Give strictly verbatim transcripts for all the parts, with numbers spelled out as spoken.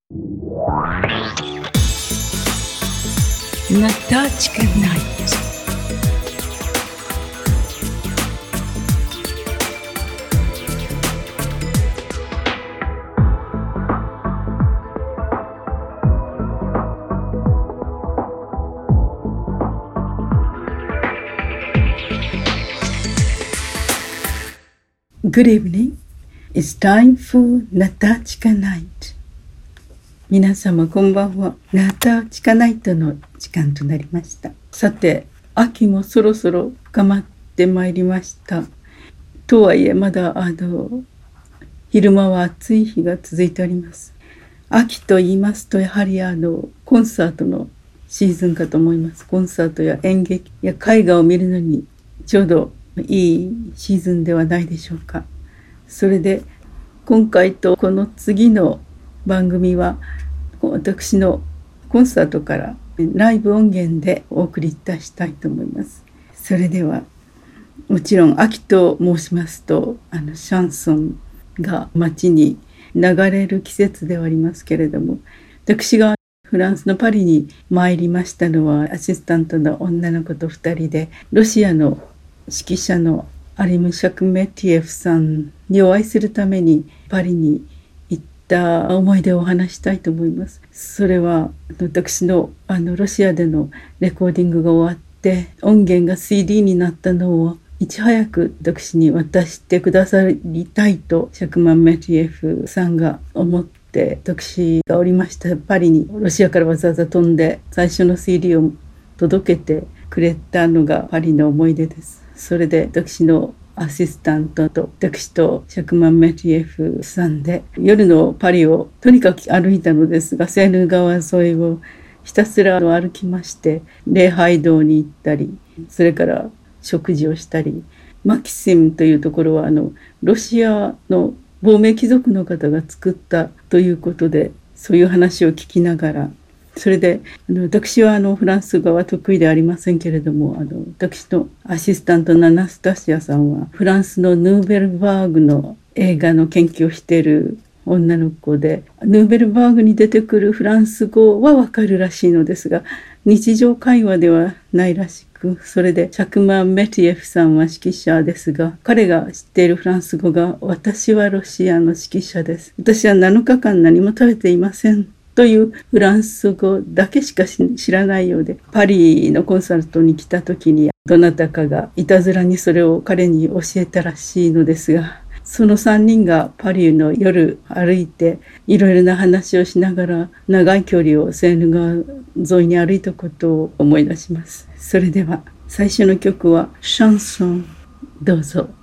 Natachka Night. Good evening. It's time for Natachka Night. 皆様こんばんは。ナタチカナイトの時間となりました。さて、秋もそろそろ深まってまいりました。とはいえまだあの昼間は暑い日が続いております。秋と言いますとやはりあのコンサートのシーズンかと思います。コンサートや演劇や絵画を見るのにちょうどいいシーズンではないでしょうか。それで今回とこの次の番組は私のコンサートからライブ音源でお送りいたしたいと思います。それではもちろん秋と申しますとあのシャンソンが街に流れる季節ではありますけれども、私がフランスのパリに参りましたのはアシスタントの女の子とふたりで、ロシアの指揮者のアリム・シャクメティエフさんにお会いするためにパリに行った思い出をお話したいと思います。それは私のあのロシアでのレコーディングが終わって音源が シーディー になったのをいち早く私に渡してくださりたいとシャクマン・メティエフさんが思って私がおりましたパリにロシアからわざわざ飛んで最初の シーディー を届けてくれたのがパリの思い出です。それで私のアシスタントと私とシャクマン・メティエフさんで夜のパリをとにかく歩いたのですが、セーヌ川沿いをひたすら歩きまして礼拝堂に行ったり、それから食事をしたり、マキシムというところはあのロシアの亡命貴族の方が作ったということで、そういう話を聞きながら、それであの私はあのフランス語は得意ではありませんけれども、あの私のアシスタントのアナスタシアさんはフランスのヌーベルバーグの映画の研究をしている女の子で、ヌーベルバーグに出てくるフランス語はわかるらしいのですが日常会話ではないらしく、それでシャクマン・メティエフさんは指揮者ですが、彼が知っているフランス語が私はロシアの指揮者です、私はなのかかん何も食べていませんというフランス語だけしか知らないようで、パリのコンサートに来た時にどなたかがいたずらにそれを彼に教えたらしいのですが、そのさんにんがパリの夜歩いていろいろな話をしながら長い距離をセーヌ川沿いに歩いたことを思い出します。それでは最初の曲はシャンソン、どうぞ。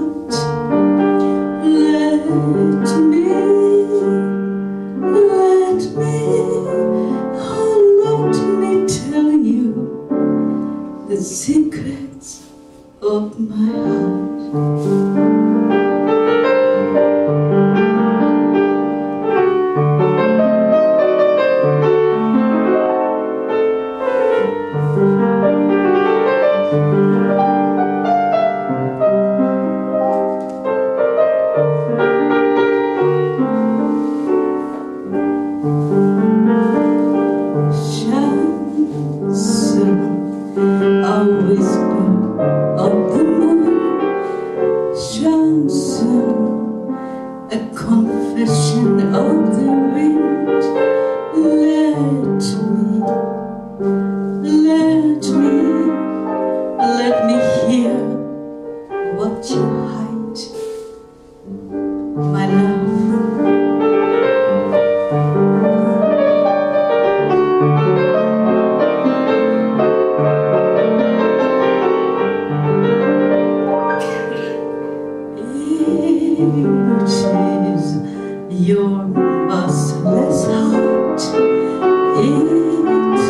Let chanson, a confession of the wind. Let me, let me, let me hear what you hide, my love. Your merciless heart, it is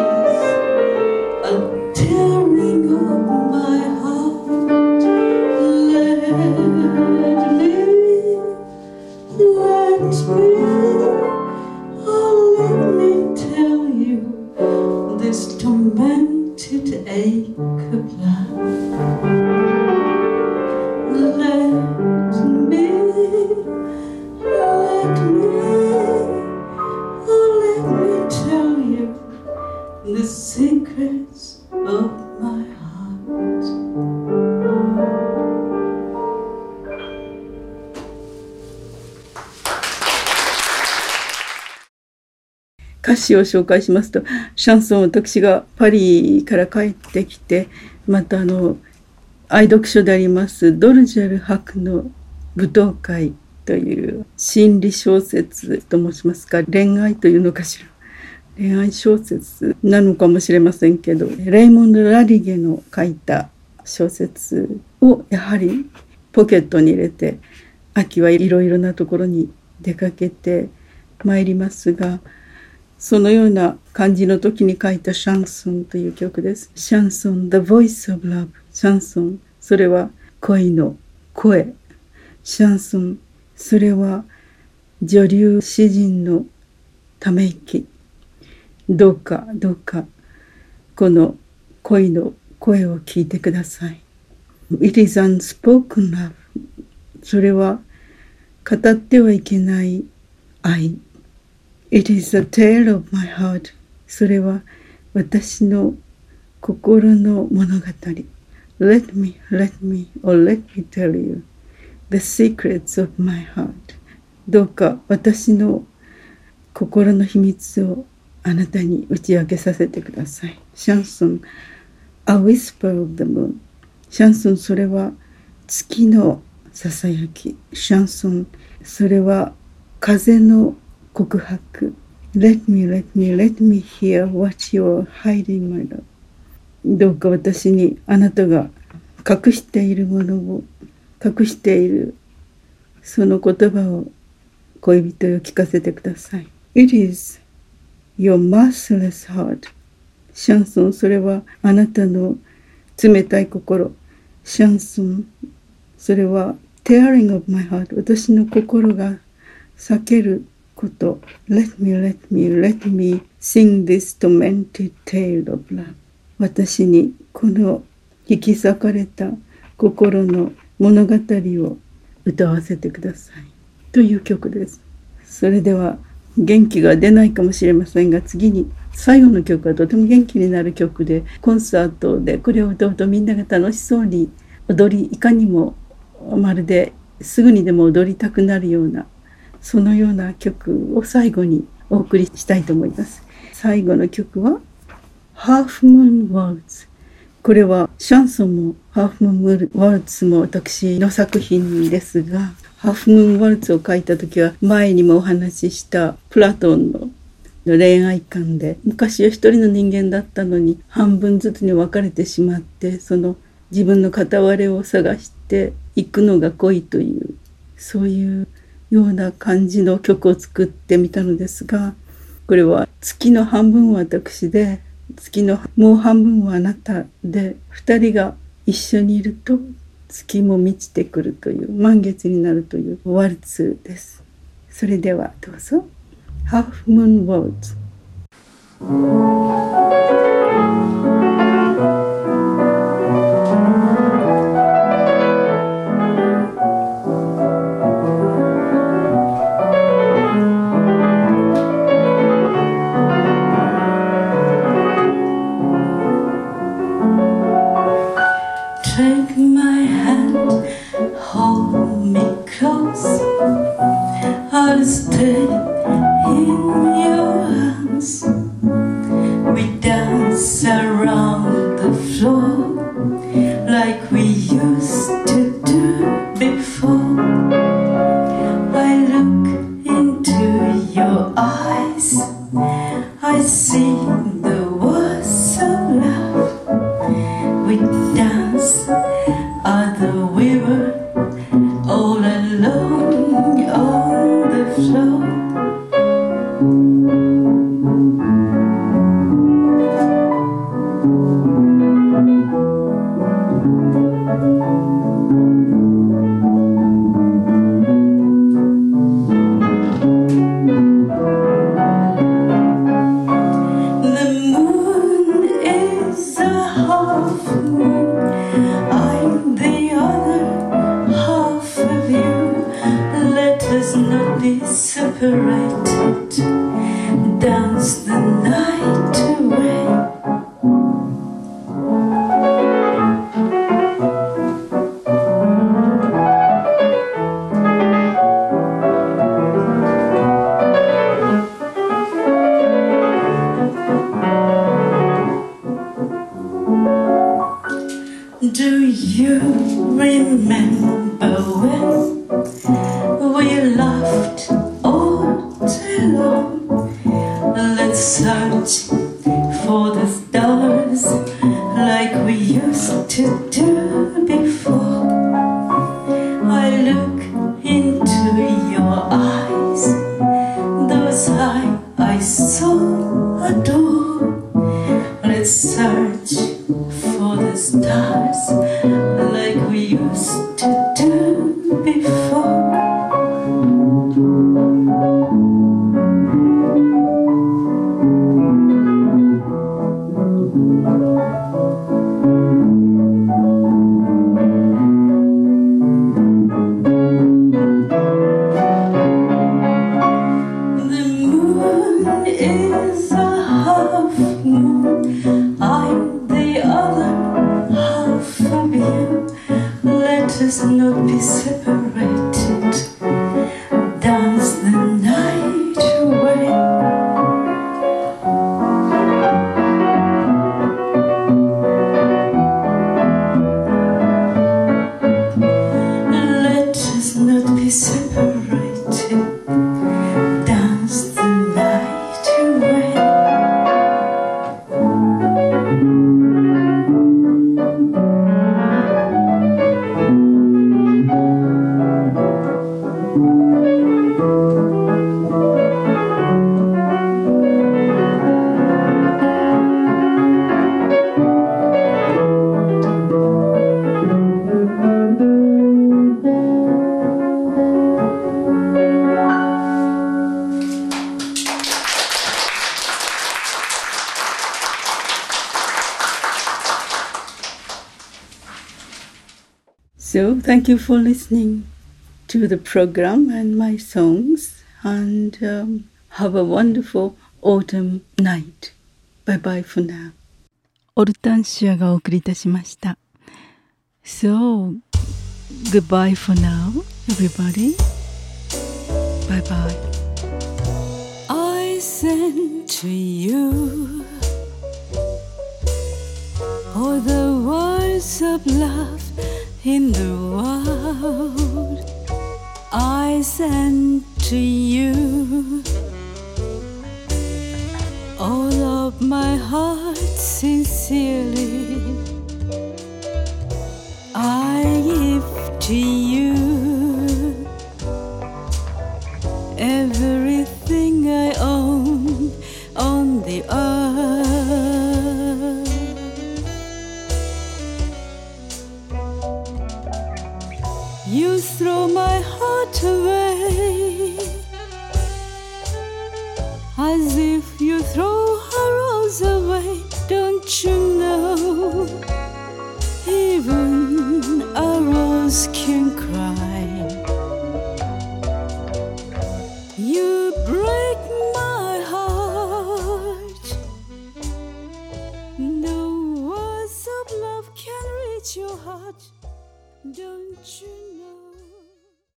a tearing of my heart. Let me, let me, oh let me tell you this tormented ache of love. Let me, let me, oh let me tell you the secrets of my heart. 歌詞を紹介しますと、シャンソン、私がパリから帰ってきて、またあの愛読書でありますドルジェル博の舞踏会という心理小説と申しますか、恋愛というのかしら、恋愛小説なのかもしれませんけど、レイモンド・ラリゲの書いた小説をやはりポケットに入れて、秋はいろいろなところに出かけてまいりますが、そのような感じの時に書いたシャンソンという曲です。シャンソン、The Voice of Love。シャンソン、それは恋の声。シャンソン、それは女流詩人のため息。どうかどうかこの恋の声を聞いてください。It is unspoken love。それは語ってはいけない愛。It is a tale of my heart。それは私の心の物語。Let me, let me, or let me tell you the secrets of my heart。どうか私の心の秘密をあなたに打ち明けさせてください。シャンソン、A whisper of the moon。シャンソン、それは月のささやき。シャンソン、それは風の告白。Let me, let me, let me hear what you're hiding, my love。どうか私にあなたが隠しているものを、隠しているその言葉を恋人よ聞かせてください。It is your merciless heart。シャンソン、それはあなたの冷たい心。シャンソン、それは tearing of my heart。私の心が裂けること。Let me, let me, let me sing this tormented tale of love。私にこの引き裂かれた心の物語を歌わせてくださいという曲です。それでは元気が出ないかもしれませんが、次に最後の曲はとても元気になる曲で、コンサートでこれを歌うとみんなが楽しそうに踊り、いかにもまるですぐにでも踊りたくなるような、そのような曲を最後にお送りしたいと思います。最後の曲はHalf Moon Waltz。これはシャンソンもハーフムーンワルツも私の作品ですが、ハーフムーンワルツを書いた時は前にもお話ししたプラトンの恋愛観で、昔は一人の人間だったのに半分ずつに分かれてしまって、その自分の片割れを探していくのが恋という、そういうような感じの曲を作ってみたのですが、これは月の半分は私で、月のもう半分はあなたで、二人が一緒にいると月も満ちてくるという、満月になるというワルツです。それではどうぞ。Half Moon Waltz。Take my hand, hold before. I look into your eyes, I see the words of love. We dance at the river, all alone on the floor. Separated, dance the night away. Do you remember when we laughed all day long? Let's search for the stars like we used to do before. I look into your eyes, those eyes I so adore. Let's search for the stars like we used to do before. The moon is a half moon, I'm the other half of you. Let us not be separated, dance the night away. Let us not be separated, dance the night away. So, thank you for listening to the program and my songs, and um, have a wonderful autumn night. Bye bye for now. オルタンシアがお送りいたしました。So, goodbye for now, everybody. Bye bye. I send to you all the words of love in the world. I send to you all of my heart sincerely. I give to you everything I own on the earth. You throw my heart away as if you throw a rose away. Don't you know, even a rose can